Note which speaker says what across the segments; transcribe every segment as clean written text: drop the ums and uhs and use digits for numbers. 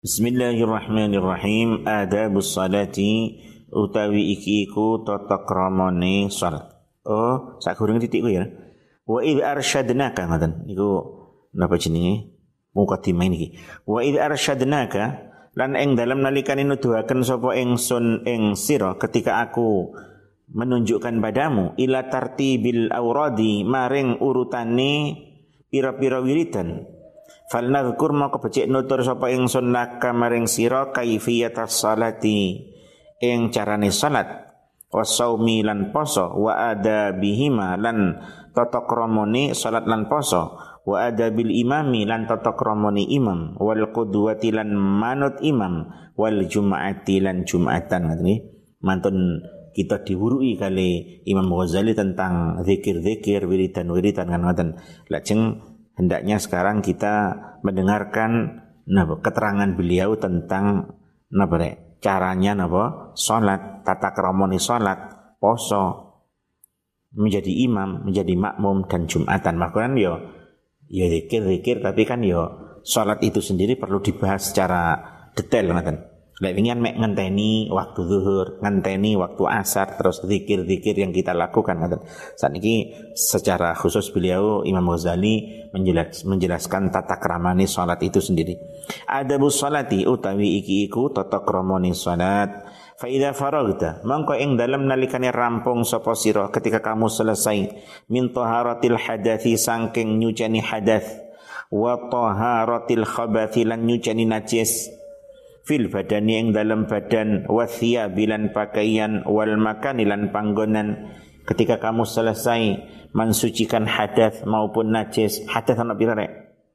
Speaker 1: Bismillahirrahmanirrahim. Adabus salati utawi iki iku tata kramane salat. Oh, sakurunge titik ku ya. Wa idz arsyadnaka ngoten. Iku napa jenenge? Mukadimah niki. Wa idz arsyadnaka lan ing dalem nalikane nuduhaken sapa ingsun ing sira ketika aku menunjukkan padamu ila tartibil auradi maring urutane pira-pira wiridan. Falnadhkur maka becik nutur sapa ingsun laka maring sira kaifiyatas salati ing carane salat wasaumi lan poso wa adabihima lan tata kramane salat lan poso wa adabil imami lan tata kramane imam wal qudwati lan manut imam wal jumu'ati lan jumatan ngene mantun kita diwurui kali Imam Ghazali tentang zikir-zikir wiridan-wiridan kan ngoten lajeng hendaknya sekarang kita mendengarkan keterangan beliau tentang caranya salat, tata kramane salat, poso, menjadi imam, menjadi makmum dan jumatan. Makanya ya zikir tapi kan salat itu sendiri perlu dibahas secara detail ngoten. Lek wingian mek ngenteni waktu zuhur, ngenteni waktu asar, terus zikir-zikir yang kita lakukan ngoten. Saat ini secara khusus beliau Imam Ghazali menjelaskan tata kramane salat itu sendiri. Adabus salati utawi iki iku tata kramane salat. Fa idza faragta mangko ing dalem nalikane rampung sapa sira ketika kamu selesai min taharatil hadathi saking nyuceni hadath wa taharatil khabathi lan nyuceni najis fil badani ing dalam badan wasya bilan pakaian wal makan lan panggonan ketika kamu selesai mensucikan hadas maupun najis. Hadas ana pira rek?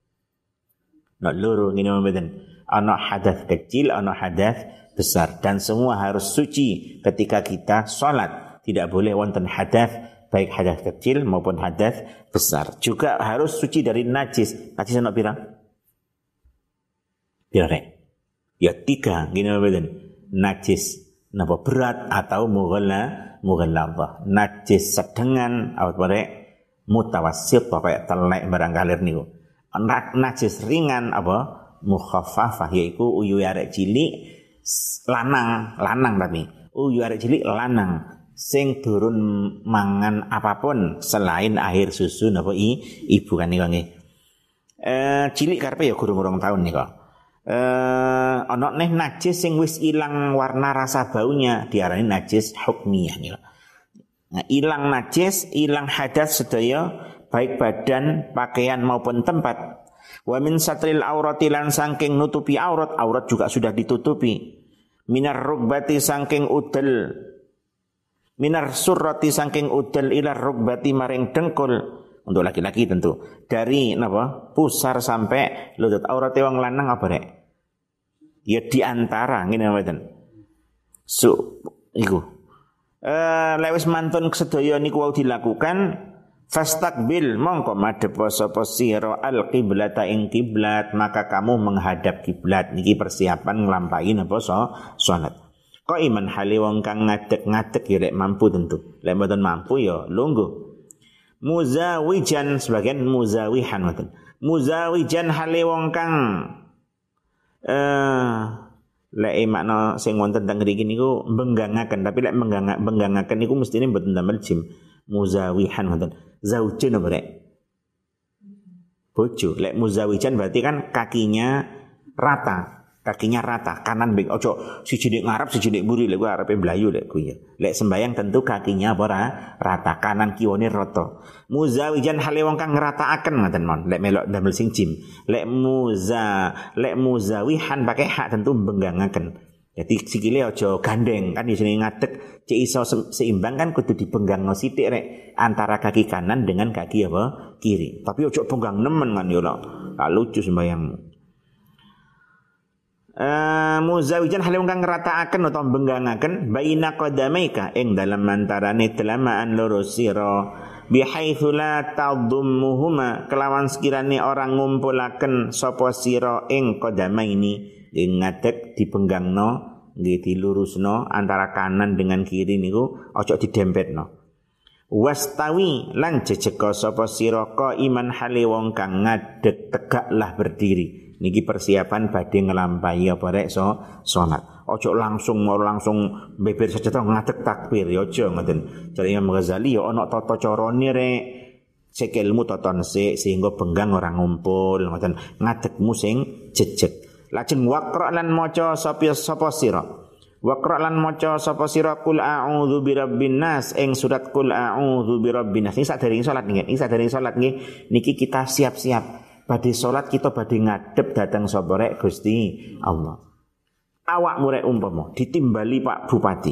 Speaker 1: Nak loro ngene mboten. Ana hadas kecil, ana hadas besar dan semua harus suci ketika kita salat. Tidak boleh wonten hadas baik hadas kecil maupun hadas besar. Juga harus suci dari najis. Najis ana pira? Pira rek? Ya 3 gini betul. Najis napa berat atau mughalladhah. Najis sedengan apa mutawassit apa telek barang kalir niku. Najis ringan apa mukhaffafah yaiku uyu arek cilik lanang tapi uyu arek cilik lanang sing durun mangan apapun selain air susu napa ibu kan niku nggih. Cilik karepe ya gurung-gurung tahun niku. Ana neh najis sing wis ilang warna rasa baunya diarani najis hukmiyah niku. Nah, ilang najis, ilang hadas sedaya baik badan, pakaian maupun tempat. Wa min satril aurati lan saking nutupi aurat juga sudah ditutupi. Minar rugbati saking udel. Minar surrati saking udel ila rugbati maring dengkul. Untuk laki-laki tentu. Dari pusar sampai lutut aurate wong lanang apa rek? Ya di antara ngene mboten. Iku. Lewis mantun sedaya niku wau dilakukan fastaqbil mongko madhep sapa sira al-qiblata ing kiblat maka kamu menghadap kiblat niki persiapan nglampahi salat. Kok iman hale wong kang ngadeg-ngadeg ya rek mampu tentu. Lek mboten mampu ya lungguh. Muzawijan sebagian muzawihan ngoten. Muzawijan hale wong kang lek makna sing wonten teng mriki niku mbenggangaken tapi lek mbenggangaken niku mestine mboten damel jim. Muzawihan ngoten. Zaujun apa rek? Bojo. Lek muzawijan berarti kan kakinya rata. Kakinya rata, kanan beng ojo siji nek ngarep siji nek mburi lek arepe mlayu lek ku ya. Lek sembayang tentu kakinya apa rata, kanan kiwane rata. Muzawijan hale wong kang ngrataaken ngoten mon. Lek melok damel sing jim. Lek muzawihan pakai hak tentu benggangaken. Jadi sikile aja gandeng kan isine ngadeg cek iso seimbang kan kudu dibenggangno sithik rek antara kaki kanan dengan kaki apa kiri. Tapi ojo benggang nemen kan yo lho. Lucu sembayangmu. Muzawijan hale wong kang ngrataaken utawa benggangaken baina qadamaika ing dalem antarane telamaan loro sira bihaitsu la tadhummuhuma kelawan sekirane orang ngumpulaken sapa sira ing qadamaini ing ngadeg dibenggangno nggih dilurusno antara kanan dengan kiri niku aja didempetno. Wastawi lan jejeka sapa sira ka iman hale wong kang ngadeg tegaklah berdiri. Niki persiapan badhe nglampahi apa rek salat. Ojo langsung beber saja to ngadeg takbir ya aja ngoten. Jare Imam Ghazali ya ana tata carane rek. Sikilmu toton sehingga benggang ora ngumpul ngoten. Ngadegmu sing jejeg. Lajeng waqra lan maca sapa sira. Waqra lan maca sapa sira qul a'udzu birabbin nas ing surat qul a'udzu birabbin nas. Iki sadèrèng salat nggih. Niki kita siap-siap badhe salat kita badhe ngadep dhateng sapa rek Gusti Allah. Awakmu rek umpama ditimbali Pak Bupati.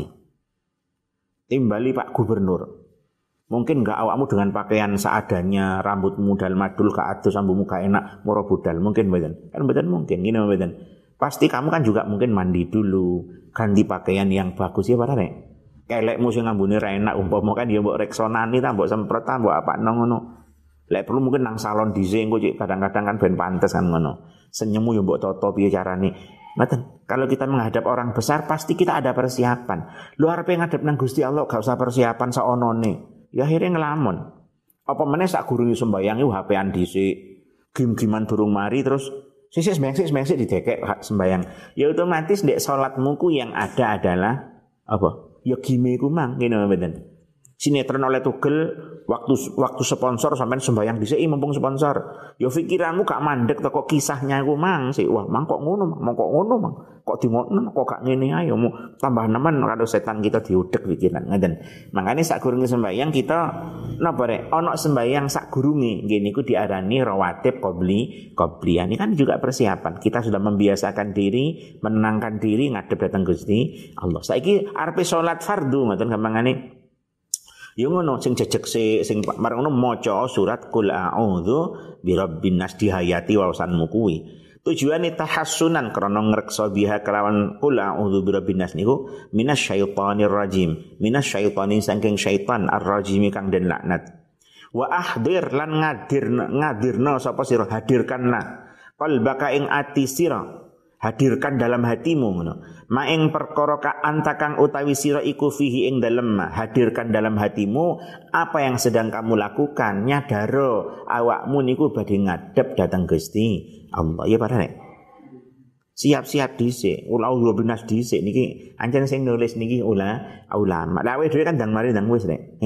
Speaker 1: Timbali Pak Gubernur. Mungkin enggak awakmu dengan pakaian seadanya, rambutmu dal madul ke atus, sambumu gak enak, moro budal. Mungkin mboten. Kan mboten mungkin, gini mboten. Pasti kamu kan juga mungkin mandi dulu, ganti pakaian yang bagus ya para rek. Kelekmu sing ngambune ra enak umpama kan ya mbok reksonani ta, mbok semprot ta, mbok apa ngono. Lek perlu mungkin nang salon dhisik engko kadang-kadang kan ben pantes kan ngono. Senyummu ya mbok toto piye carane. Mboten. Kalau kita menghadap orang besar pasti kita ada persiapan. Lu arepe ngadep nang Gusti Allah gak usah persiapan saonone. Ya akhirnya ngelamun. Apa meneh sak gurunge sembayang iku HP-an dhisik. Gim-giman durung mari terus sisik sembayang didekek sembayang. Ya otomatis ndek salatmu ku yang ada adalah apa? Ya gime ku mang ngene mboten. Sinetron oleh tugel waktu sponsor sampean sembayang dhisik mumpung sponsor. Ya pikiranmu gak mandek teko kisahnya iku mang sik. Wah, mang kok ngono, mang. Kok dingono kok gak ngene ae mu tambah nemen karo setan kita diudek pikiran ngoten. Mangane sak gurunge sembayang kita napa rek ana sembayang sak gurunge nggih niku diarani rawatib qobliyah. Ini kan juga persiapan. Kita sudah membiasakan diri, menenangkan diri ngadep datang Gusti Allah. Saiki arepe salat fardhu ngoten gampangane. Ya ngono sing jejeg sing marang ngono maca surat qul a'udzu birabbin nas dihayati waosanmu kuwi. Tujuane tahassunan krana ngreksa biha kelawan qul a'udzu birabbin nas niku minasyaitonir rajim. Minasyaitonir saking syaitan ar-rajim kang den laknat. Wa ahdir lan ngadirna sapa sira hadirkanlah qalbaka ing ati sira. Hadirkan dalam hatimu ngono. Maing perkara ka antakang utawi sira iku fihi ing dalem, hadirkan dalam hatimu apa yang sedang kamu lakukan, nyadaro awakmu niku badhe ngadep datang Gusti Allah. Ya para nek. Siap-siap dhisik, ulah binas dhisik niki ancen sing nulis niki ulama. Lah dhewe kan ndang mari ndang wis nek.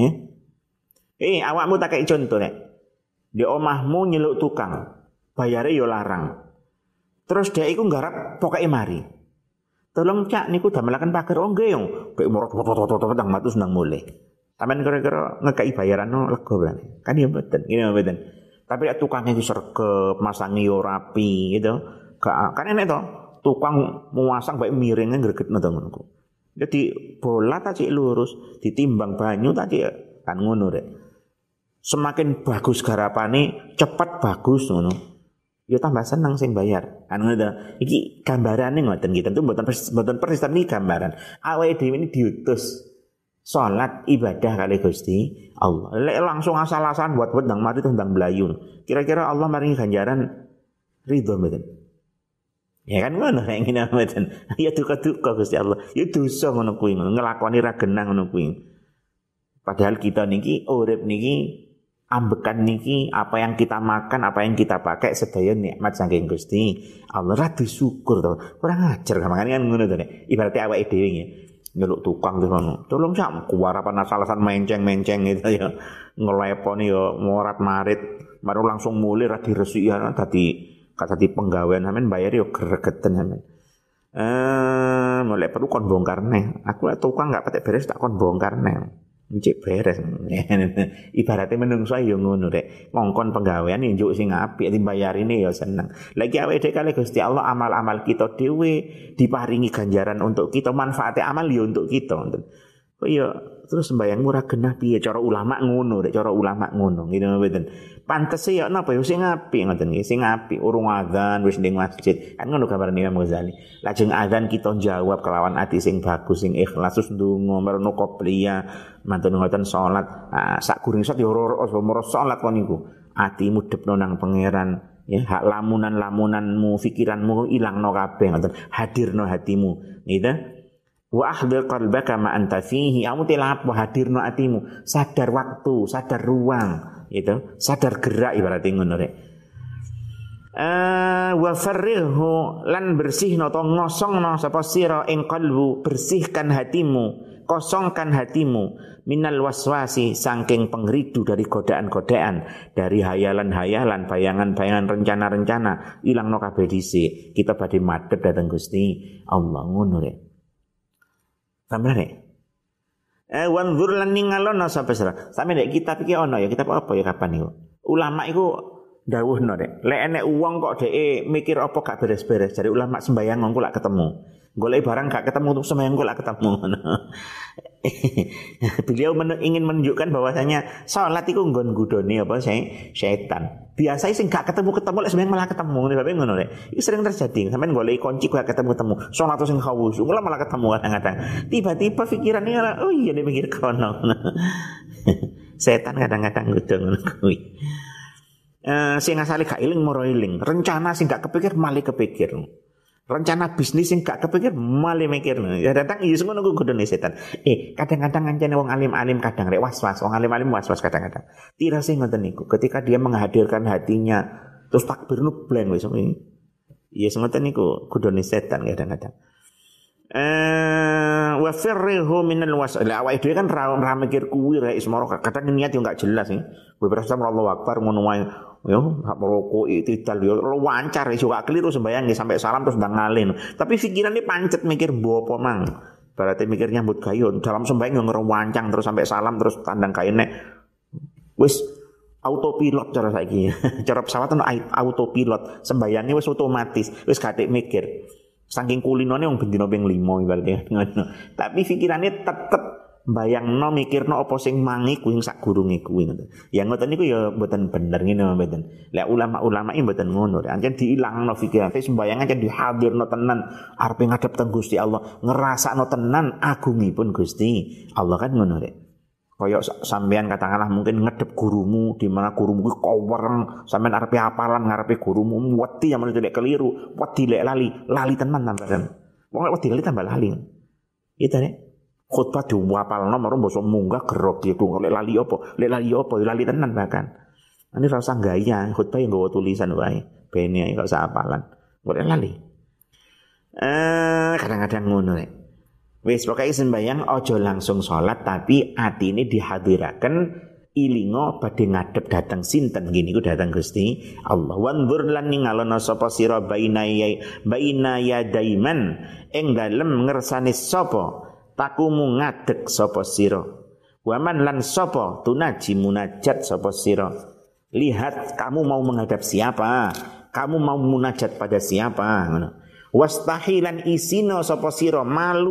Speaker 1: Awakmu tak kei contoh nek. Di omahmu nyeluk tukang, bayare yo larang. Terus dia iku nggarap pokoke mari. Tolong cak niku damelaken pager oh nggih yo. Bek morot nang matus nang mulih. Sampeyan kira-kira ngekeki bayaran lega berarti. Kan ya mboten, ngene mboten. Tapi lek tukangnya iku sregep, masangi yo rapi gitu. Kan enek to. Tukang muasang bae miringe gregetno to ngono. Jadi bola ta cik lurus, ditimbang banyu ta cik kan ngono rek. Semakin bagus garapane, cepat bagus ngono. Ya tambah senang sing bayar. Kan ngono. Iki gambarane ngoten iki tentu mboten persis tapi gambaran. Awake dhewe ini diutus salat ibadah kali Gusti Allah. Lek langsung asal-asalan buat ndang mati tuh ndang blayu. Kira-kira Allah maringi ganjaran ridho mboten? Ya kan ngono nek ngene mboten. Ya duka-duka Gusti Allah. Ya dosa ngono kuwi, nglakoni ra genah ngono kuwi. Padahal kita niki urip niki ambekan niki apa yang kita makan, apa yang kita pakai sedaya nikmat saking Gusti Allah. Ra disyukur to. Kurang ajar gampangane kan ngono to nek. Ibaratnya awake dhewe nggih. Nyeluk tukang terus ngono. Tolong sak kuwarapan asal-asalan menceng-menceng gitu ya. Ngeleponi ya morat-marit, baru langsung mulih ra diresiki ya dadi penggawean sampean bayar yo gregeten sampean. Mulai perlu kon bongkar neh. Aku lek tukang enggak patek beres tak kon bongkar neh. Cek beres. Ibaratnya menungso ya ngono rek. Ngongkon penggawean njuk sing apik dimbayarine ya seneng. Lagi awake dhewe kali Gusti Allah amal-amal kita dhewe diparingi ganjaran untuk kita, manfaatnya amal ya untuk kita. Kok ya terus sembayang murah genah piye cara ulama ngono rek, cara ulama ngono ngene mboten. Pantes ya napa ya sing apik ngoten nggih, sing apik urung adzan wis ning masjid. Kan ngono kabar Imam Ghazali. Lajeng adzan kita jawab kelawan ati sing bagus sing ikhlas terus ndonga merono qobliyah mantun ngoten salat. Sak gurung salat ya ora salat kon niku. Atimu depno nang pangeran ya, hak lamunan-lamunanmu, pikiranmu ilangno kabeh ngoten. Hadirno hatimu, gitu. Wa ahdir qalbaka ma anta fihi, kamu telap hadirno atimu, sadar waktu, sadar ruang, gitu, sadar gerak ibaratnya ngono rek. Wa farrihu lan bersihno to ngosongno sapa sira ing qalbu, bersihkan hatimu, kosongkan hatimu minal waswasi saking pengridu dari godaan-godaan, dari hayalan-hayalan, bayangan-bayangan, rencana-rencana, ilangno kabeh dhisik. Kita badhe madhep dhateng Gusti Allah ngono rek. Sampeyan rek. Wanzur lan ningalono sapa sira. Sampe nek kitab iki ana ya, kitab apa ya kapan iku? Ulama iku dawuhno rek, lek enek wong kok dhek mikir apa gak beres-beres, jare ulama sembayang engko lak ketemu. Golek barang gak ketemu untuk sembayang engko lak ketemu. Beliau ingin menunjukkan bahwasanya salat iku nggon gudone apa setan. Biasanya sing gak ketemu-ketemu lek sembayang malah ketemu. Bae ngono rek. Iki sering terjadi. Sampeyan golek kunci gak ketemu-ketemu. Salat sing khawus, malah ketemu kadang-kadang. Tiba-tiba pikirannya oh iya dia mikir kono. Setan kadang-kadang ngono kuwi. Sing asale gak iling moro iling, rencana sing gak kepikir malah kepikir, rencana bisnis sing gak kepikir malah mikir. Ya datang iya ngono ku godone setan. Kadang-kadang ngancene wong alim-alim kadang rek was-was, wong alim-alim was-was kadang-kadang. Tira sing ngoten niku, ketika dia menghadirkan hatinya terus takbir nu blank wis ngono. Iya ngoten niku godone setan kadang-kadang. Wa firrihu minal wasal. Awake dhewe kan ra mikir kuwi rek semaro kadang niat yo gak jelas sih. Beberapa sama Allahu Akbar ngono wae. Yo merokok itidal yo lancar iso gak keliru sembayang sampai salam terus ndang ngalin. Tapi pikirane pancet mikir mbo apa mang. Berarti mikir nyambut gawe dalam sembayang yo ngerewancang terus sampai salam terus tandang kaine. Wis autopilot cara saiki. Cara pesawat ono autopilot, sembayangnya wis otomatis, wis gak mikir. Saking kulinone wong bendina ping 5 ibaratnya ngono. Tapi pikirane tetep bayangno mikirno apa sing mangi kuwi sak gurunge kuwi ngoten. Ya ngoten niku ya mboten bener ngene mboten. Lah ulama-ulama iki mboten ngono. Ancen diilangno pikiran, sembayang ancen dihadirno tenan arepe ngadep teng Gusti Allah, ngrasakno tenan agungipun Gusti Allah kan ngono rek. Kaya sampean katakanlah mungkin ngedep gurumu di mana gurumu kuwi kowereng, sampean arepe hafalan ngarepe gurumu wedi yang menurut keliru, wedi lek lali tenan sampean. Wong lek wedi lali tambah lali. Itu nek khutbah diwapalno marang basa munggah gerok gitu. Lek lali apa? Lek lali tenan bahkan. Ini ra usah gaya, khutbah yang nggawa tulisan wae. Bene kok usah hafalan. Lek lali. Kadang-kadang ngono rek. Wis pokoke sembayang aja langsung salat tapi atine dihadiraken ilingo badhe ngadep dateng sinten ngene iku dateng Gusti Allah. Wanzur lan ningalono sapa sira baina yadaiman ing dalem ngersane sapa takumu ngadeg sapa sira. Waman lan sapa tunaji munajat sapa sira. Lihat kamu mau menghadap siapa? Kamu mau munajat pada siapa? Ngono. Wastahilan isino sapa sira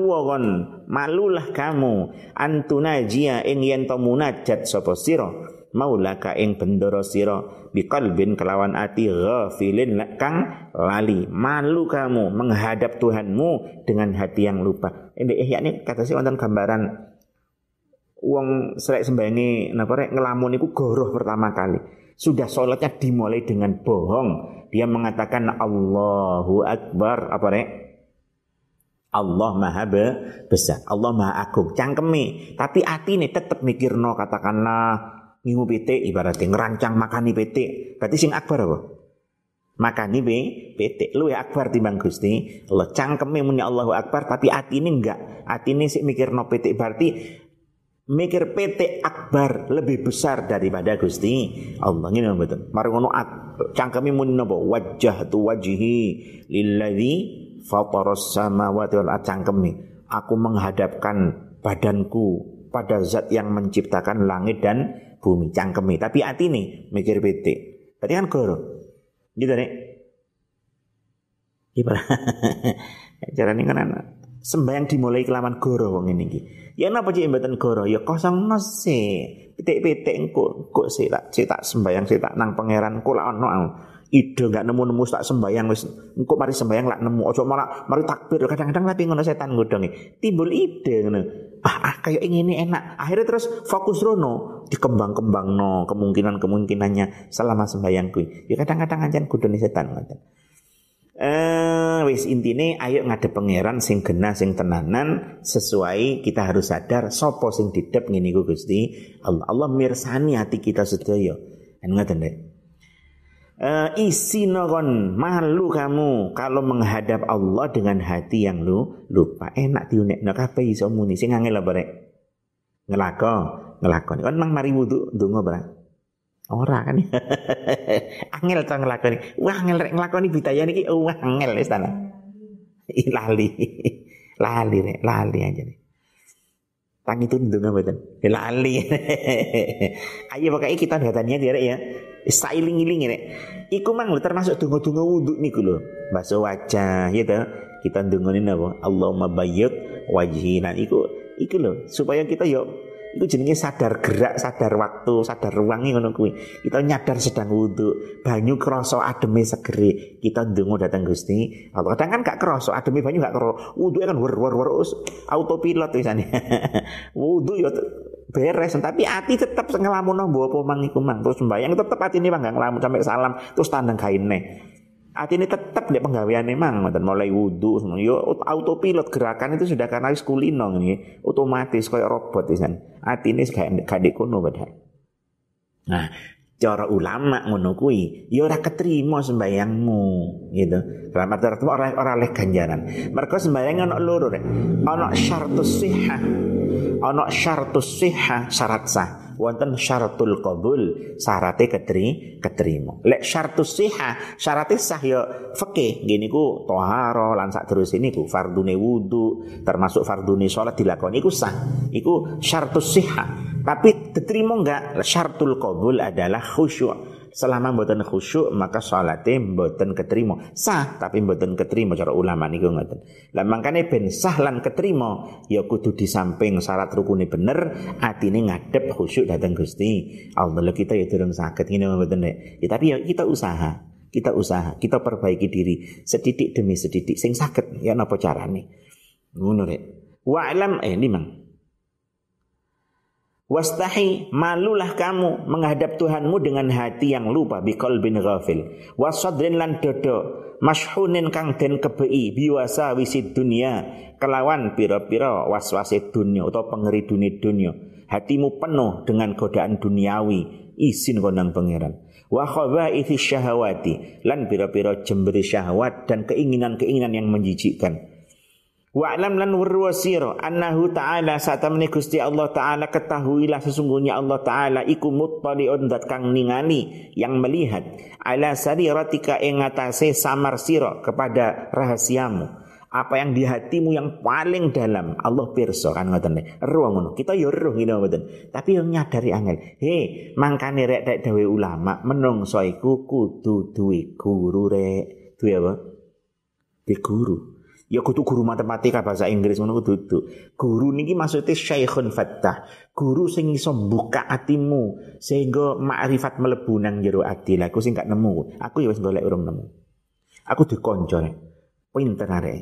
Speaker 1: malulah kamu antunajia ing yen to munajat sapa sira maulaka ing bendoro sira biqalbin kelawan ati ghafilin kang lali. Malu kamu menghadap Tuhanmu dengan hati yang lupa. Ini yakni kata sih wonten gambaran wong selek sembayangi napa rek ngelamun iku goroh pertama kali. Sudah sholatnya dimulai dengan bohong. Dia mengatakan Allahu Akbar. Apa rek? Allah maha besar. Allah maha agung. Cangkeme. Tapi hati ini tetap mikirno katakanlah ngingu pitik ibaratnya ngerancang makani pitik. Berarti sing akbar apa? Makani pitik. Lu ya akbar timbang Gusti Allah. Cangkeme muni Allahu Akbar. Tapi hati ini enggak. Hati ini sih mikirno pitik. Berarti mikir PT akbar lebih besar daripada Gusti Allah. Ngene mboten. Mari ngono cangkeme muni napa? Wajjahtu wajhi lilladzi fataras samawati wal ardh. Cangkeme aku menghadapkan badanku pada zat yang menciptakan langit dan bumi. Cangkeme tapi atine mikir PT. Berarti kan goro. Gitu nek. Gimana? Carane kan sembayang dimulai kelawan goro wong ngene iki. Ya napa cek mboten goro? Ya kosong sih. Pitik-pitik engko sik tak sembayang sik tak nang pangeran kok lak ono ide enggak nemu-nemu tak sembayang wis engko mari sembayang lak nemu aja malah mari takbir kadang-kadang tapi ngono setan ngodongi. Timbul ide ngono. Kayak ngene enak. Akhirnya terus fokus rono dikembang-kembangno kemungkinan-kemungkinannya selama sembayang kuwi. Ya kadang-kadang ancen godone setan ngoten. Wis intine ayo ngadep pangeran sing genah sing tenanan sesuai kita harus sadar sapa sing didep ngene iku Gusti Allah. Allah mirsani hati kita sedaya. Ngoten rek. Isino kon malu kamu kalau menghadap Allah dengan hati yang lu lupa. Enak diunekno kabeh iso muni sing angel apa rek? Ngelakoni. Kon mang mari wudu ndonga ora? Ora kan. Angel to ngelakoni. Wah angel rek ngelakoni bidaya niki wah angel wis ta. Lali. Lali aja nih. Tangi itu ndonga mboten. Lali. Ayo pokoke kita datanya dia ya. Sailing-iling rek. Iku mang termasuk donga-donga wudu niku lho. Basuh wajah ya to. Kita ndongane napa? Allahumma bayyid wajhi. Nah iku lho supaya kita yo iku jenenge sadar gerak, sadar waktu, sadar ruang ngono kuwi. Kita nyadar sedang wudu, banyu krasa ademe segere. Kita ndonga datang Gusti Allah. Kadang kan gak krasa ademe banyu gak krasa. Wudu kan wer autopilot wisane. Wudu yo beres tapi ati tetep ngelamunno mbok apa mang iku mang. Terus sembayang tetep atine mang gak ngelamun sampai salam terus tandang gaine. Atine tetep nek penggaweane mang ngoten mulai wudu yo autopilot gerakan itu sudah karena wis kulino ngene otomatis koyo robot wisan. Atine gak ndek kono padahal. Nah, cara ulama ngono kuwi ya ora ketrima sembayangmu gitu. Dalam arti ora oleh ganjaran. Mergo sembayang ana loro rek. Ana syartus sihah. Ana syartus sihah syarat sah. Wonten syaratul qabul syarate ketrima. Lek syartus sihah syarate sah ya fikih ngene niku thaharah lan sak terus niku fardune wudu termasuk fardune salat dilakoni iku sah. Iku syartus sihah. Tapi diterima enggak syaratul qabul adalah khusyuk. Selama mboten khusyuk maka salate mboten ketrima. Sah tapi mboten ketrima cara ulama niku ngoten. Lah mangkane ben sah lan ketrima ya kudu di samping syarat rukune bener atine ngadep khusyuk dateng Gusti Allah. Kita ya durung saged ngene mboten nek. Ya tapi ya kita usaha, kita perbaiki diri sedidik demi sedidik sing saged ya napa carane. Ngono rek. Wa alam limang wastahi malulah kamu menghadap Tuhanmu dengan hati yang lupa biqalbin ghafil wasadrin lan dodo mashunin kang den kebei biwasa wisid dunia kelawan pira-pira waswase dunia atau pengeridune dunia hatimu penuh dengan godaan duniawi izin kondang pangeran wa khabaithi syahawati lan pira-pira jemberi syahwat dan keinginan-keinginan yang menjijikkan. Wa alam lan warwasira annahu ta'ala satamni Gusti Allah ta'ala ketahuilah sesungguhnya Allah ta'ala iku muttali'un dat kang ningali yang melihat ala sariratika ing atase samar sira kepada rahasiamu apa yang di hatimu yang paling dalam Allah pirsa kan ngoten eruh ngono kita yo eruh ngene mboten tapi yo nyadari angel mangkane rek dek dewe ulama menungso iku kudu duwe guru rek duwe apa duwe guru. Ya kudu guru matematika bahasa Inggris ngono kudu. Guru niki maksudnya Syekhun Fattah. Guru sing iso buka atimu sehingga makrifat mlebu nang jero ati. Lah aku sing gak nemu. Aku ya wis golek urung nemu. Aku dikonco pinter arek.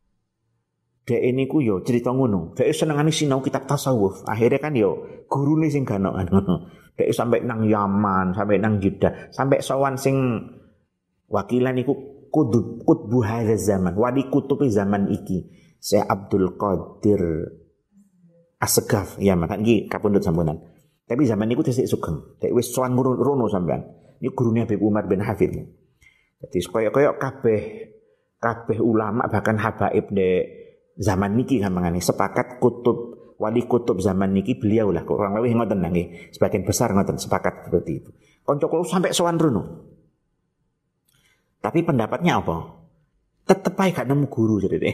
Speaker 1: Dek niku yo cerita ngono. Dek senengane sinau kitab tasawuf. Akhirnya kan yo gurune sing ganokan ngono. Dek sampai nang Yaman, sampai nang Jeddah, sampai sowan sing wakilan niku Qutbu hadza zaman wali kutubi zaman iki Syekh Abdul Qadir Asgaf ya makan iki kapundhut sampeyan tapi zaman niku tesih sugeng dek wis sowan rono sampean iki gurune Habib Umar bin Hafid dadi koyo kabeh ulama bahkan habaib dek zaman niki gampangane sepakat wali kutub zaman niki beliau lah kurang lebih ngoten nggih sebagian besar ngoten sepakat seperti itu kanca kula sampai sowan rono. Tapi pendapatnya apa? Tetep ae gak nemu guru jadi deh.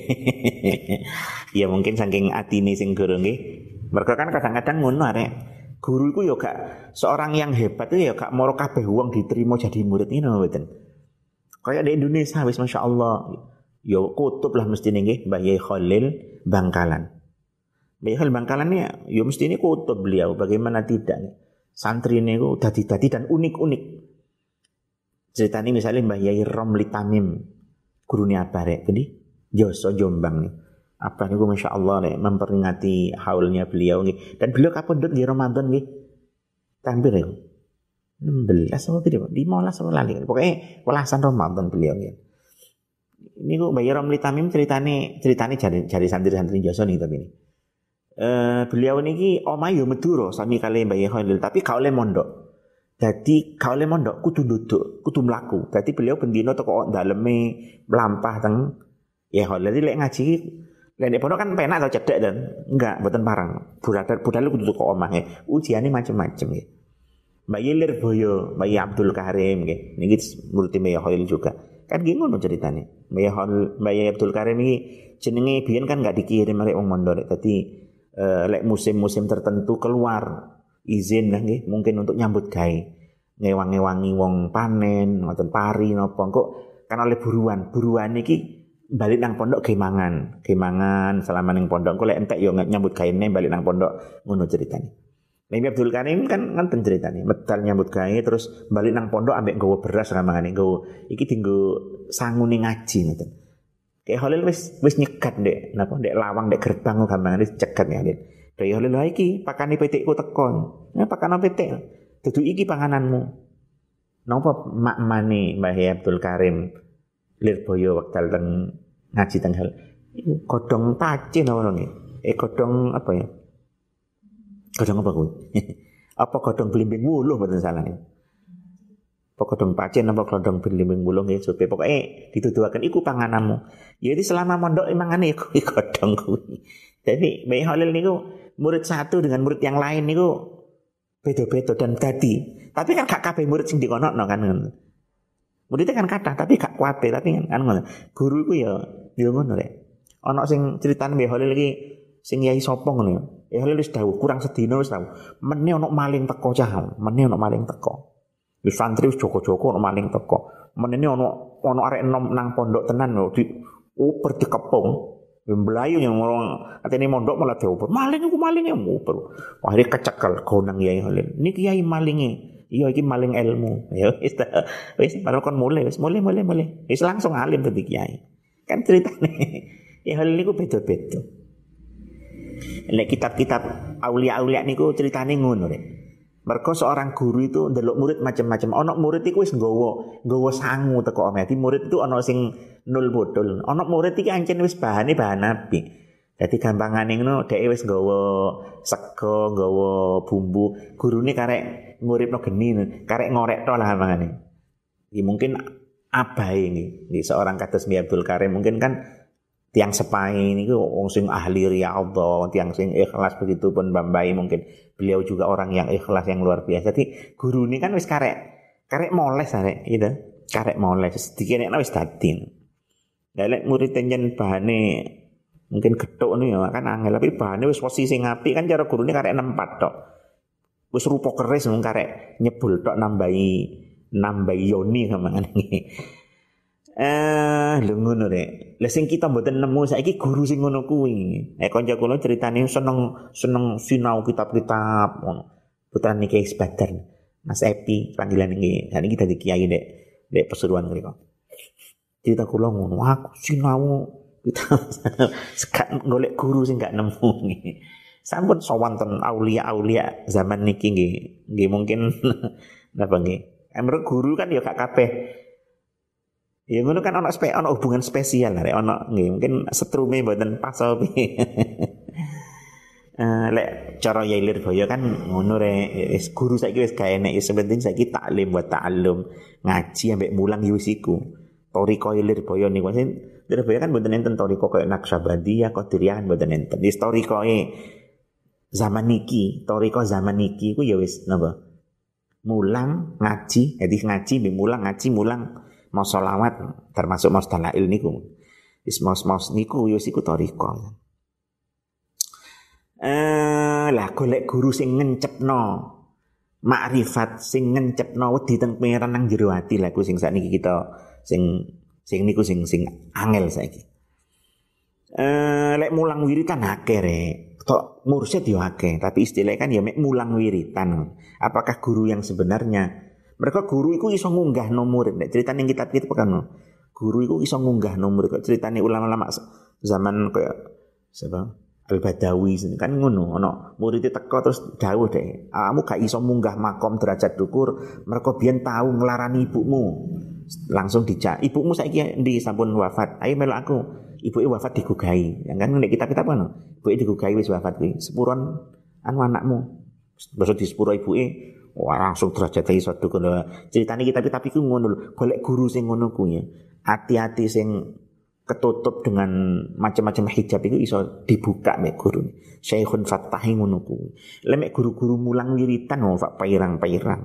Speaker 1: Ya mungkin saking atine sing guru nggih. Mergo kan kadang-kadang ngono arek. Guru iku ya gak seorang yang hebat itu ya gak moro kabeh wong diterima jadi murid ngono mboten. Kayak di Indonesia wis masyaallah. Ya kutub lah mestine nggih Mbah Yai Khalil Bangkalan. Mbah Yai Khalil Bangkalan ya mestine kutub beliau bagaimana tidak. Santrine iku dadi-dadi dan unik-unik. Ceritanya misalnya Mbah Yai Romli Tamim gurune apa rek gede Joso Jombang nih apa niku Masya Allah nih memperingati haulnya beliau nih dan beliau kapundhut di Ramadan nih tampil ya 16 apa tidak 15 apa lali pokoknya welasan Ramadan beliau nih ini kok Mbah Yai Romli Tamim ceritanya jari santri-santri Joso nih tapi ini beliau niki omah yo Madura sami kali Mbah Yai Khalil tapi gak oleh mondok. Dadi gak oleh mondok kudu nduduk, kudu mlaku. Dadi beliau bendino teko daleme mlampah teng ya Holil lek ngaji lek nek pondok kan penak to cedek dan enggak mboten parang. Budal kudu teko omah ujiane macam-macam nggih. Mbak Yelir Boyo, Mbak Abdul Karim nggih. Niki murid Mbak Holil juga. Kan nggih ngono ceritane. Mbak Abdul Karim iki jenenge biyen kan enggak dikirim arek wong mondok. Dadi lek musim-musim tertentu keluar izin lah nggih mungkin untuk nyambut gawe ngewangi-wangi wong panen ngoten pari napa kok kan oleh buruan iki balik nang pondok gemangan selama ning pondok kok lek entek yo nyambut gawe balik nang pondok ngono ceritane. Nabi Abdul Karim kan ngoten ceritane medal nyambut gawe terus balik nang pondok ambek nggawa beras ramangane nggawa iki dienggo sangune ngaji ngoten. Kayak Holil wis nyegat ndek napa ndek lawang ndek gerbang gampangane cegat ya Holil. Daya Holil wae iki pakane petikku tekon. Ya pakane petik. Dudu iki pangananmu. Napa makmane Mbah Abdul Karim Lirboyo wekdal teng ngaji teng hal. Iku godhong pacin apa nggih? Godhong apa ya? Godhong apa kuwi? Apa godhong blimbing wuluh mboten salah ya. Apa godhong pacin apa godhong blimbing wuluh nggih supe pokoke dituduhaken iku pangananmu. Ya iki selama mondok mangane kuwi godhong kuwi. Jadi Mbah Holil niku murid satu dengan murid yang lain niku beda-beda dan dadi. Tapi kan gak kabeh murid sing dikonokno kan ngono. Muridnya kan kathah tapi gak kuwabe tapi kan ngono. Guru iku ya ngono rek. Ana sing critane Mbah Holil iki sing yai sapa ngono ya. Holil wis dawuh kurang sedina wis dawuh. Mene ana maling teko cah. Mene ana maling teko. Wis santri wis joko-joko ana maling teko. Menene ana arek enom nang pondok tenan lho di uper dikepung. Mblayu yang orang atene mondok malah diuper. Maling iku maling ya uper. Akhire kecekel gonang Yai Holil. Niki Yai malinge. Iya iki maling ilmu. Ya wis baru kon mulai. Wis langsung alim dadi kiai. Kan ceritane. Ya Holil niku beda-beda. Nek kitab-kitab aulia-aulia niku ceritane ngono rek. Mergo seorang guru itu ndelok murid macam-macam. Ana murid iku wis nggawa sangu teko omah. Dadi murid itu ana sing nul bodol. Ana murid iki ancen wis bahan nabi. Dadi gampangane ngono dhek wis nggawa sego, nggawa bumbu. Gurune karek nguripno geni, karek ngorek tok lah mangane. Iki mungkin abahe nggih. Seorang kados Mbah Abdul Karim mungkin kan tiang sepai niku wong sing ahli riyadhah, tiang sing ikhlas begitu pun Mbambai mungkin beliau juga orang yang ikhlas yang luar biasa. Jadi guru ini kan wis karek moles arek gitu. Karek moles sedikit nek wis dadi. Lah lek murid tenjen bahane mungkin gethuk niku ya kan angel tapi bahane wis posisi sing apik kan cara gurune karek nempat tok. Wis rupa keris mung karek nyebul tok nambahi yoni kamangane. Lho ngono rek. Lah sing kita mboten nemu saiki guru sing ngono kuwi. Kanca kula critane seneng sinau kitab-kitab ngono. Putrane Kiai Badar. Mas Epi panggilan iki. Dan iki dadi kiai nek Pasuruan mriku. Cerita kula ngono, aku sinau kitab sekat golek guru sing gak nemu nggih. Sampun sowan ten aulia-aulia zaman niki nggih mungkin napa nggih. Emre guru kan ya gak kabeh. Ya ngono kan ana hubungan spesial arek ana nggih mungkin setrume mboten pas opo. Lek cara Yai Lirboyo kan ngono rek wis guru saiki wis gak enek ya penting saiki taklim wa ta'allum ngaji ambek mulang yo wis iku. Toriko Lirboyo niku Lirboyo kan mboten enten toriko koyo Naqsabandiyah Qadiriyah mboten enten. Wis torikoe zaman niki iku ya wis napa? Mulang ngaji, jadi ngaji mulang mau sholawat termasuk mau dalail niku. Wis mau niku yo siku toriko. Lah golek guru sing ngencepno makrifat sing ngencepno wedi teng pangeran nang jero ati lha ku sing sakniki kita sing niku sing angel saiki. Lek mulang wiritan akeh rek. Tok mursyid yo akeh, tapi istilahnya kan ya mek mulang wiritan. Apakah guru yang sebenarnya? Mereka guru iku iso ngunggahno murid. Nek critane kitab-kitab kan guru iku iso ngunggahno murid. Kok critane ulama-ulama zaman kayak siapa? Al-Badawi kan ngono, ana murid teko terus dawuh deh. Kamu gak iso munggah makom derajat dukur, mergo biyen tau nglarani ibumu. Langsung dijak. Ibumu saiki ndi sampun wafat. Ayo melok aku. Ibuke wafat digugahi. Yang kan nek kitab-kitab kan ibuke digugahi wis wafat kuwi. Sepuron anu anakmu. Basa di sepuro ibuke wah langsung derajate iso dukun. Ceritane iki tapi ku ngono lho, golek guru sing ngono kuwi. Hati-hati sing ketutup dengan macam-macam hijab itu iso dibuka mek guru. Syekhun Fattahi ngono kuwi. Lek mek guru-guru mulang wiritan Pak pairang-pairang.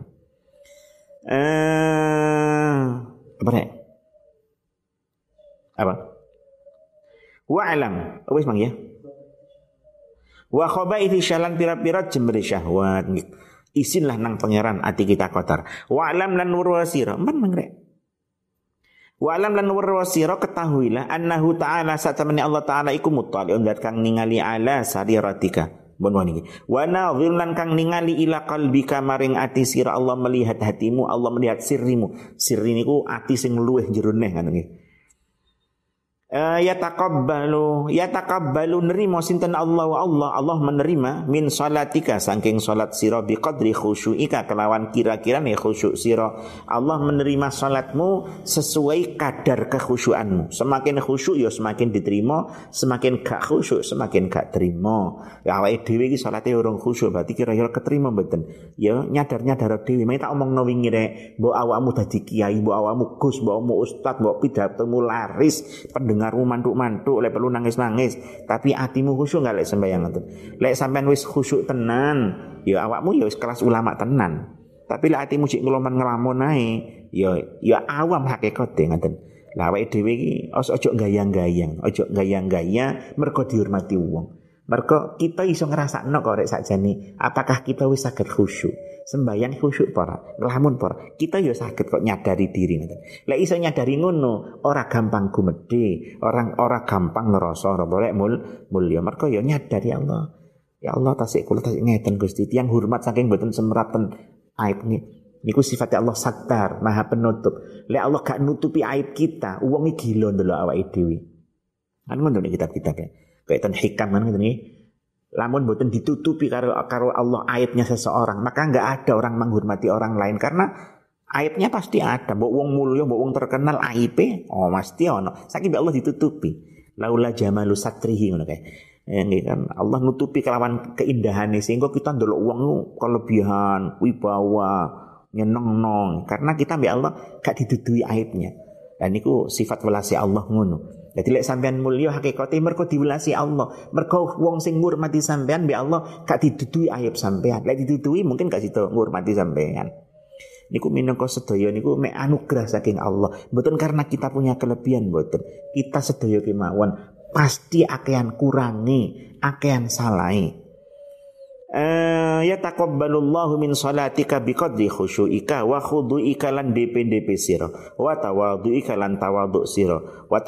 Speaker 1: Apa nek? Apa? Wa'lam. Wis mang ya. Wa khabaithi syalan pira-pira jemre syahwat. Isinlah nang pangeran ati kita kotor. Wa'lam lan wurwasira. Man mangrek. Wa'lam lan wurwasira ketahuilah annahu ta'ala satamani Allah ta'ala iku muttali'un dat kang ningali ala sariratika. Bon niki. Wa nadhir lan kang ningali ila qalbika maring ati sira Allah melihat hatimu, Allah melihat sirrimu. Sirri niku ati sing luweh jero neh ngono nggih. Yataqabbalu nerima sinten Allah menerima min salatika saking salat sira biqadri khusyuika kelawan kira-kirane khusyuk sira. Allah menerima salatmu sesuai kadar kekhusyuanmu. Semakin khusyuk ya semakin diterima, semakin gak khusyuk semakin gak terima. Ya awake dhewe iki salate urung khusyuk berarti kira-kira keterima mboten. Ya nyadar-nyadar dhewe. Mek tak omongno wingi rek, mbok awakmu dadi kiai, mbok awakmu gus, mbok awakmu ustaz, mbok pidatomu laris, dengarmu mantuk-mantuk, lek perlu nangis-nangis, tapi hatimu khusyuk enggak lek sembahyang ngoten. Lek sampean wis khusyuk tenan, ya awakmu ya wis kelas ulama tenan. Tapi lek hatimu sik ngelamun ae, ya awam hakikate ngoten. Lah awake dhewe iki ojo gayang-gayang, ojo gayang-gayang mergo dihormati wong. Mergo kita iso ngrasakno kok rek sakjane, apakah kita wis saged khusyuk? Sembayang khusyuk para, ngelamun para. Kita ya sakit kok nyadari diri ngoten. Lek iso nyadari ngono, ora gampang gumedhe, ora gampang ngerasa ora boleh mulya. Mergo ya nyadari Allah. Ya Allah tasik kula tasik ngeten Gusti, tiyang hormat saking mboten semraten aib niku sifat Allah sattar, Maha Penutup. Lek Allah gak nutupi aib kita, wong iki gila ndelok awake dhewe. Kan ngono nek kitab-kitab ya. Kayak ten hikam kan ngoten iki. Lamun boten ditutupi karo Allah aibnya seseorang, maka enggak ada orang menghormati orang lain karena aibnya pasti ada. Mbok wong mulya, mbok wong terkenal aibe, mesti ono. Saking Allah ditutupi. Laula jamalu satrihi ngono kae. Nggih kan Allah nutupi kelawan keindahane sehingga kita ndelok wong kelebihan, wibawa, nyenengno karena kita mbek Allah gak didudui aibnya. Dan niku sifat welasi Allah ngono. Jadi lek sampean mulya hakikate mergo diwelasi Allah. Mergo wong sing ngurmati sampean mbek Allah gak didudui aib sampean. Lek didudui mungkin gak sida ngurmati sampean. Niku minangka sedaya niku mek anugerah saking Allah. Mboten karena kita punya kelebihan mboten. Kita sedaya kemawon pasti akean kurangi, akean salahi. Yataqabbalullahu min salatika biqadri khusyuika wa khudu'ika lan DP sira wa tawadhu'ika lan tawadhu' sira wa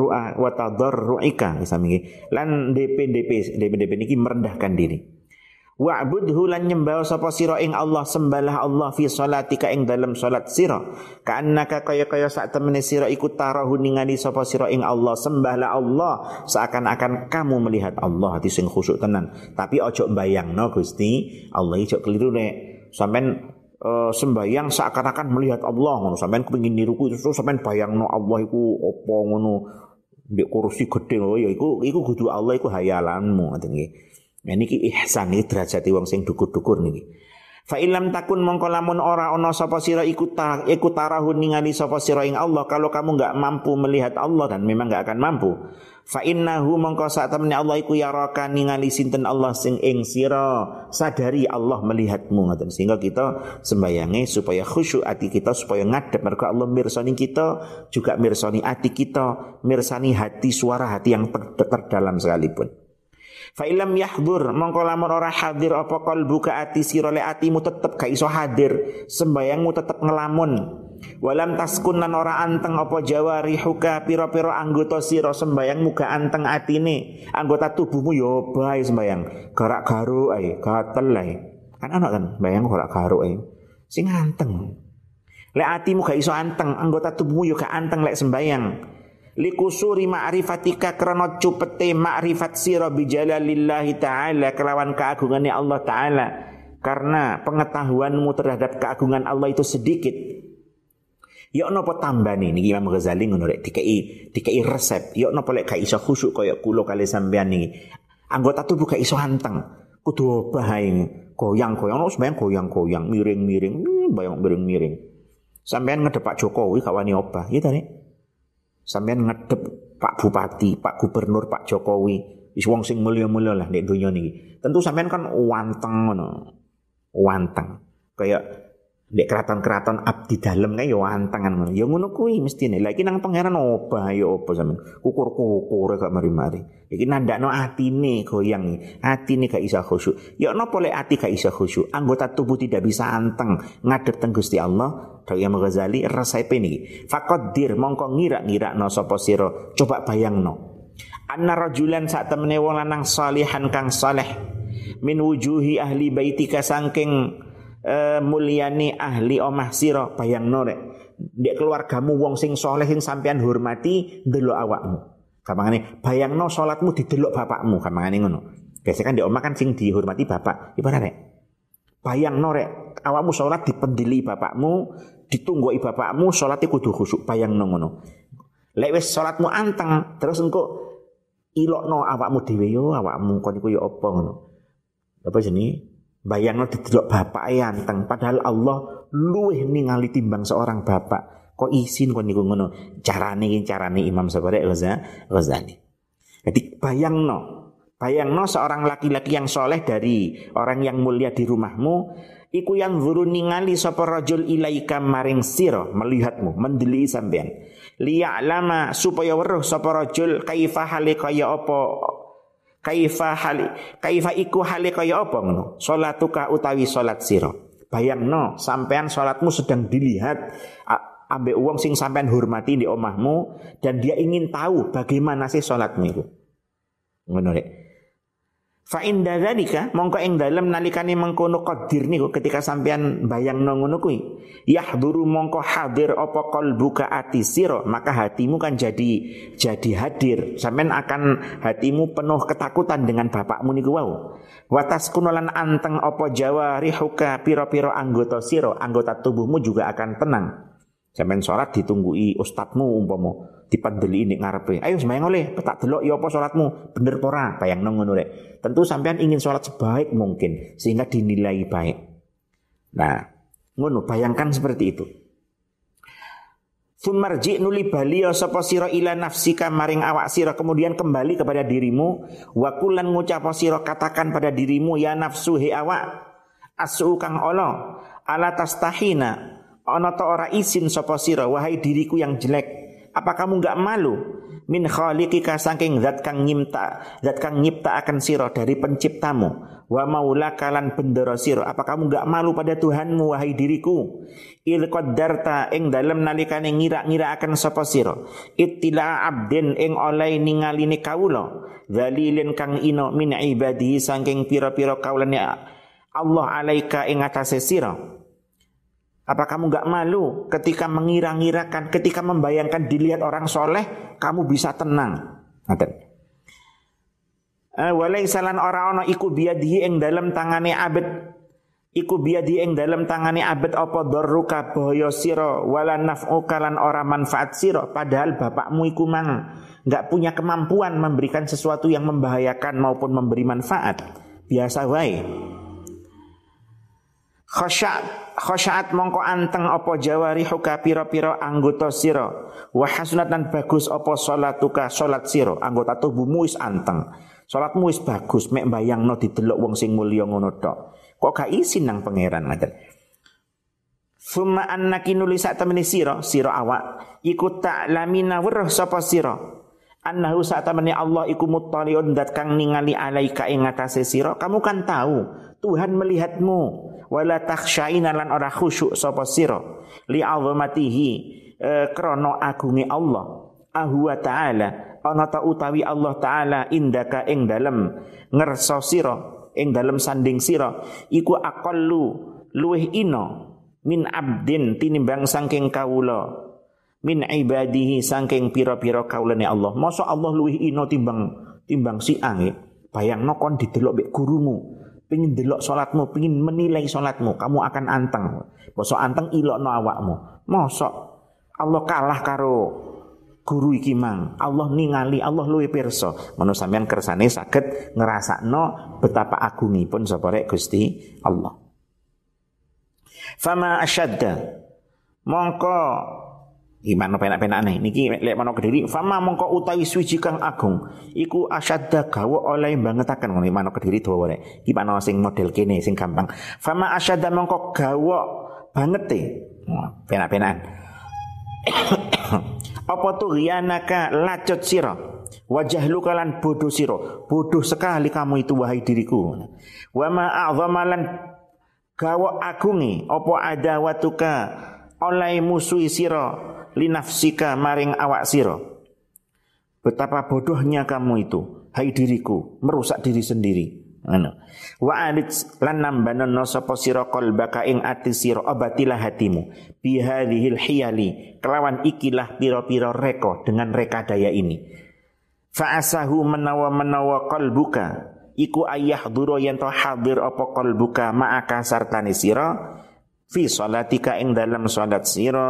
Speaker 1: tadarru'ika sami lan DP niki merendahkan diri. Wa'budhu lan nyembah sapa sira ing Allah, sembahlah Allah fi salatika ing dalam salat sira ka'annaka kaya sak temene sira iku tarahu ningali sapa sira ing Allah. Sembahlah Allah seakan-akan kamu melihat Allah, hati sing khusyuk tenan. Tapi ojo mbayangno Gusti Allah ijo keliru nek sampean sembayang seakan-akan melihat Allah ngono. Sampean kepengin niruku terus sampean bayangno Allah iku apa ngono ndek kursi gedhe ya iku kudu Allah iku hayalanmu ngoten nggih. Nah niki ihsan iki derajate wong sing dukur-dukur niki. Fa illam takun mongko lamun ora ana sapa sira iku tarahun ningali sapa sira ing Allah, kalau kamu enggak mampu melihat Allah dan memang enggak akan mampu. Fa innahu mongko sak temene Allah iku yaraka ningali sinten Allah sing ing sira, sadari Allah melihatmu ngoten. Sehingga kita sembayange supaya khusyuk ati kita, supaya ngadep mergo Allah mirsani kita, juga mirsani ati kita, mirsani hati suara hati yang terdalam sekalipun. Fa illam yahdur mongko lamun ora hadir apa qalbuka ati sira le atimu tetep gak iso hadir, sembayangmu tetep ngelamun. Walam taskun lan ora anteng apa jawarihuka pira-pira anggota sira, sembayangmu gak anteng atine, anggota tubuhmu yo bae sembayang garak garuk ae, gatel ae. Kan ana kan sembayang garak garuk ae. Sing anteng. Lek atimu gak iso anteng, anggota tubuhmu yo gak anteng lek sembayang. Likusuri ma'rifatika krana cupete ma'rifat sira bijalalillahi ta'ala kelawan keagungane Allah ta'ala. Karena pengetahuanmu terhadap keagungan Allah itu sedikit. Ya napa tambane niki Imam Ghazali ngono rek dikei resep. Ya napa lek gak iso khusyuk kaya kula kali sampean niki. Anggota tubuh gak iso anteng. kudu obah ae. Goyang-goyang no sampean goyang-goyang, miring-miring, bayang miring-miring. Sampean ngedep Pak Jokowi gak wani obah, ya ta Nek? Sampean ngedep Pak Bupati, Pak Gubernur, Pak Jokowi, wis wong sing mulya-mulya lah nek donya niki. Tentu sampean kan wanteng ngono. Wanteng. Kayak nek keraton-keraton abdi dalem kae ya wantengan ngono. Ya ngono kuwi mestine. Lah iki nang pangeran obah ya apa sampean. Kukur-kukur gak mari-mari. Iki nandakno atine goyang. Atine gak isa khusyuk. Ya napa lek ati gak isa khusyuk? Anggota tubuh tidak bisa anteng ngadep teng Gusti Allah. Dawuh Imam Ghazali resepe niki. Faqaddir mongko ngira-ngirakno sapa sira. Coba bayangno. Anna rajulan sak temene wong lanang salihan kang saleh min wujuhi ahli baitika saking mulyani ahli omah sira bayangno rek ndek keluargamu wong sing saleh sing sampean hormati ndelok awakmu gampangane bayangno salatmu didelok bapakmu gampangane ngono biasanya kan ndek omah kan sing dihormati bapak ibarat rek bayangno rek awakmu salat dipendili bapakmu ditunggoki bapakmu salate kudu khusyuk bayangno ngono lek wis salatmu anteng terus engko ilokno awakmu dhewe yo awakmu kon iku yo apa ngono apa jenenge bayangno didelok bapak anteng padahal Allah luwih ningali timbang seorang bapak kok isin kon niku ngono carane Imam Sabari Ghazali. Jadi bayangno seorang laki-laki yang soleh dari orang yang mulia di rumahmu iku yang zuru ningali sapa rajul ilaika maring sira melihatmu mendeli sampean liya'lama supaya weruh sapa rajul kaifa hale kaya apa kaifa iku hale kaya apa ngono salatuka utawi salat sira bayangno sampean salatmu sedang dilihat ambek wong sing sampean hormati di omahmu dan dia ingin tahu bagaimana sih salatmu itu ngono rek fa inda dzalika mongko ing dalem nalikane mengkono qadir niku ketika sampean bayangno ngono kuwi yahduru mongko hadir apa qalbuka ati sira maka hatimu kan jadi hadir sampean akan hatimu penuh ketakutan dengan bapakmu niku wau wa taskunulan anteng apa jawarihuka pira-pira anggota sira anggota tubuhmu juga akan tenang sampean salat ditunggui ustadmu umpama dipandeli nek ngarepe ayo sembayang oleh tak delok ya apa salatmu bener apa ora bayangno ngono rek tentu sampean ingin salat sebaik mungkin sehingga dinilai baik nah ngono bayangkan seperti itu sumarji nuli baliya sapa sira ila nafsika maring awak sira kemudian kembali kepada dirimu wa kulan ngucap sira katakan pada dirimu ya nafsu he awak asu kang ala tastahina ana ta ora izin sapa sira wahai diriku yang jelek apa kamu enggak malu min khaliqika saking zat kang nyipta akan sira dari penciptamu wa maulaka lan bendera sira apa kamu enggak malu pada Tuhanmu wahai diriku il qaddarta ing dalem nalikane ngira-ngira akan sapa sira ittila abdin ing oleh ningaline kawula zalilin kang ino min ibadihi saking pira-pira kawulane Allah alaika ing atase sira. Apa kamu enggak malu ketika mengira-ngirakan, ketika membayangkan dilihat orang soleh, kamu bisa tenang. Ngaten. Walaisalan ora ana iku biadihi ing dalem tangane abet. Iku biadihi ing dalem tangane abet apa darruka bahaya sira wala naf'uka lan ora manfaat sira padahal bapakmu iku mang enggak punya kemampuan memberikan sesuatu yang membahayakan maupun memberi manfaat. Biasa wae. Khasyaat mongko anteng apa jawarihuka pira-pira anggota sira wa hasunatan bagus apa salatuka salat sira anggota tubuhmu wis anteng salatmu wis bagus mek mbayangno didelok wong sing mulya ngono tok kok gak isin nang pangeran ngaten summa annaki nulisa temene sira awak iku ta'lamina weruh sapa sira annahu satamani Allah iku muttaliun dat kang ningali alaika ing atase sira kamu kan tahu Tuhan melihatmu wala takhsyaina lan ora khusyuk sapa sira li azamatihi krana agunge Allah ahwa ta'ala ana ta utawi Allah taala indaka ing dalem ngersa sira ing dalem sanding sira iku aqallu luweh ino min abdin tinimbang saking kawula min ibadihi saking pira-pira kawulane Allah mosok Allah luweh ino timbang si ange bayangno kon didelok mek gurumu pengin delok salatmu, pengin menilai salatmu, kamu akan anteng. Mosok anteng ilokno awakmu. Mosok Allah kalah karo guru iki mang, Allah ningali, Allah luwih pirsa. Ngono sampean kersane saged ngrasakno betapa agungipun sapa rek Gusti Allah. Fama asyadda, mongko gimana penak-penakne niki lek menawa Kediri, fama mongko utawi suci kang agung iku asyadda gawa oleh bangetaken ngono menawa Kediri dawa rek. Iki menawa sing model kene sing gampang. Fama asyadda mongko gawa bangete. Penak-penakan. Apa tuh rianaka lacut sira wajah lu kalan bodoh sira, bodoh sekali kamu itu wahai diriku. Wa ma a'zamalan gawa agungi apa adawatuka oleh musuhi sira linafsika maring awak sira. Betapa bodohnya kamu itu hai diriku, merusak diri sendiri. Wa alit lan nambanono sapa sira qalbaka ing ati sira abatilah hatimu bihadhil hiyali kelawan ikilah pira-pira reka dengan reka daya ini. Fa asahu menawa qalbuka iku ayahduru yen to hadir apa qalbuka ma'aka sartani sira fi salatika ing dalam salat sira.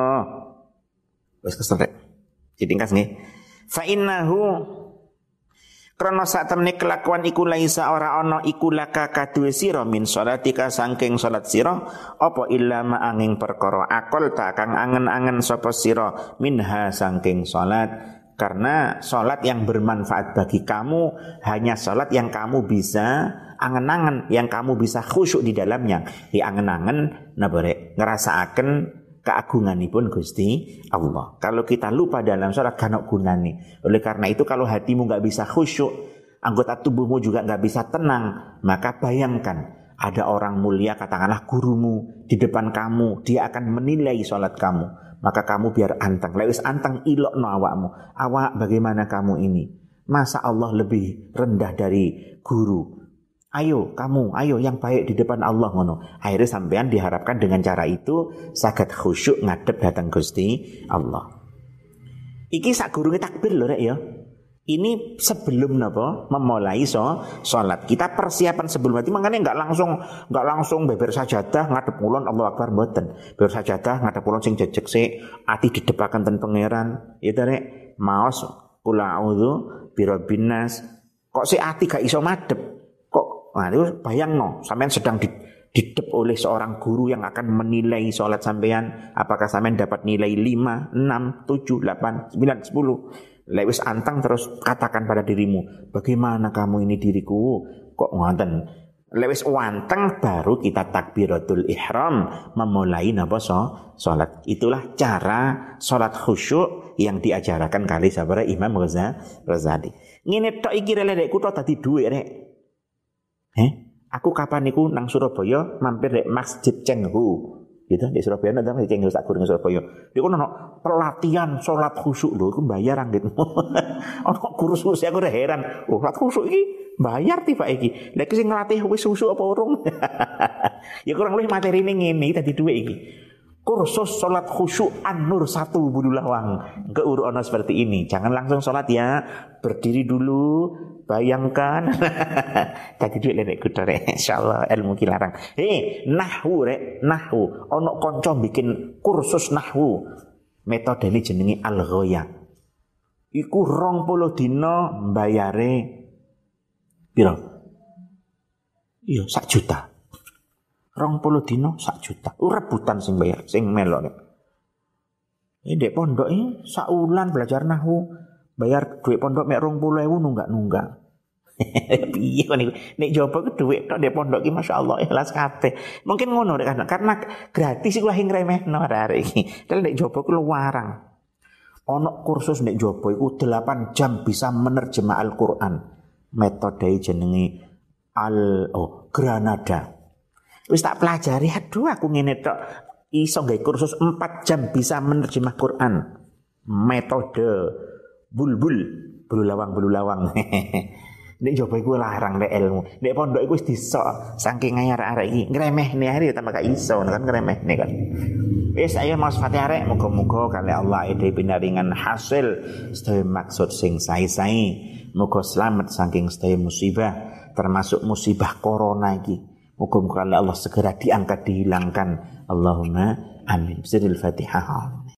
Speaker 1: Wis kesentek ditingkas nggih. Fa innahu krana sak temne kelakuan iku laisa ora ana iku laka kaduwe sira min salatika saking salat sira apa illa ma angin perkara akal tak kang angen-angen sapa sira minha saking salat. Karena salat yang bermanfaat bagi kamu hanya salat yang kamu bisa angen-angen, yang kamu bisa khusyuk di dalamnya. Di angen-angen nabare ngrasakaken keagunganipun Gusti Allah. Kalau kita lupa dalam salat kan gunane. Oleh karena itu kalau hatimu enggak bisa khusyuk, anggota tubuhmu juga enggak bisa tenang, maka bayangkan ada orang mulia katakanlah gurumu di depan kamu, dia akan menilai salat kamu. Maka kamu biar anteng. Lewis anteng ilokno awakmu. Awak bagaimana kamu ini? Masa Allah lebih rendah dari guru? Ayo kamu, ayo yang baik di depan Allah ngono. Akhirnya sampean diharapkan dengan cara itu saged khusyuk ngadep datang Gusti Allah. Iki sakgurunge takbir lho rek ya. Ini sebelum napa memulai salat. Kita persiapan sebelum itu makanya enggak langsung beber sajadah ngadep kulon Allahu Akbar mboten. Beber sajadah ngadep kulon sing jejeg sik, ati didepaken ten pangeran. Ya ta rek, maos kula a'udzu birabbin nas. Kok sik ati gak iso madhep. Nah, itu bayangno, sampean sedang didep oleh seorang guru yang akan menilai sholat sampean. Apakah sampean dapat nilai 5, 6, 7, 8, 9, 10. Lewis antang terus katakan pada dirimu, bagaimana kamu ini diriku? Kok ngoten? Lewis wanteng baru kita takbiratul ihram memulai napa sholat. Itulah cara sholat khusyuk yang diajarkan kali sabara Imam Ghazali. Ngene tok iki rek kutho dadi dhuwit rek. Aku kapan niku nang Surabaya mampir rek Masjid Cenghu. Gitu di Surabaya nang Masjid Cenghu sak gurung Surabaya. Niku ono pelatihan salat khusyuk lho, iku bayar gitu. Ono kursus aku udah heran. Oh, salat khusyuk iki bayar tiba iki. Lha iki sing nglatih wis khusyuk apa urung? Ya kurang lebih materine ngene tadi dhuwit iki. Kursus salat khusyuk An-Nur 1 Bululawang. Ke ono seperti ini. Jangan langsung salat ya. Berdiri dulu, bayangkan. Tadi duit lek kudu rek. Insyaallah ilmu ki larang. Nahwu rek, nahwu. Ono kanca bikin kursus nahwu. Metodene jenenge Al-Ghaya. Iku 20 dina mbayare piro? Iya, 1 juta. 20 dina 1 juta. Rebutan sing bayar, sing melok nek. Ndek pondok iki sak wulan belajar nahwu. Bayar duit pondok mek 20.000 nunggak-nunggak. Piye kok niku? Nek jopo ku duit tok ndek pondok ki masyaallah ikhlas kabeh. Mungkin ngono rek karena gratis iku lah sing remehno arek iki. Dal nek jopo ku luwarang. Ono kursus nek jopo iku 8 jam bisa menerjemah Al-Qur'an. Metode jenenge Granada. Wis tak pelajari, aduh aku ngene tok iso gawe kursus 4 jam bisa menerjemah Quran. Metode bulbul lawang. Nek coba iku larang nek ilmu. Nek pondok iku wis disok saking arek-arek iki ngremehne hari tambah gak iso kan ngremehne kan. Wis ayo Mas Fatih arek muga-muga kali Allah ide pinaringan hasil sedaya maksud sing sae-sae. Muga selamat saking sedaya musibah termasuk musibah corona iki. Muga-muga Allah segera diangkat dihilangkan. Allahumma amin. Bismillahirrahmanirrahim.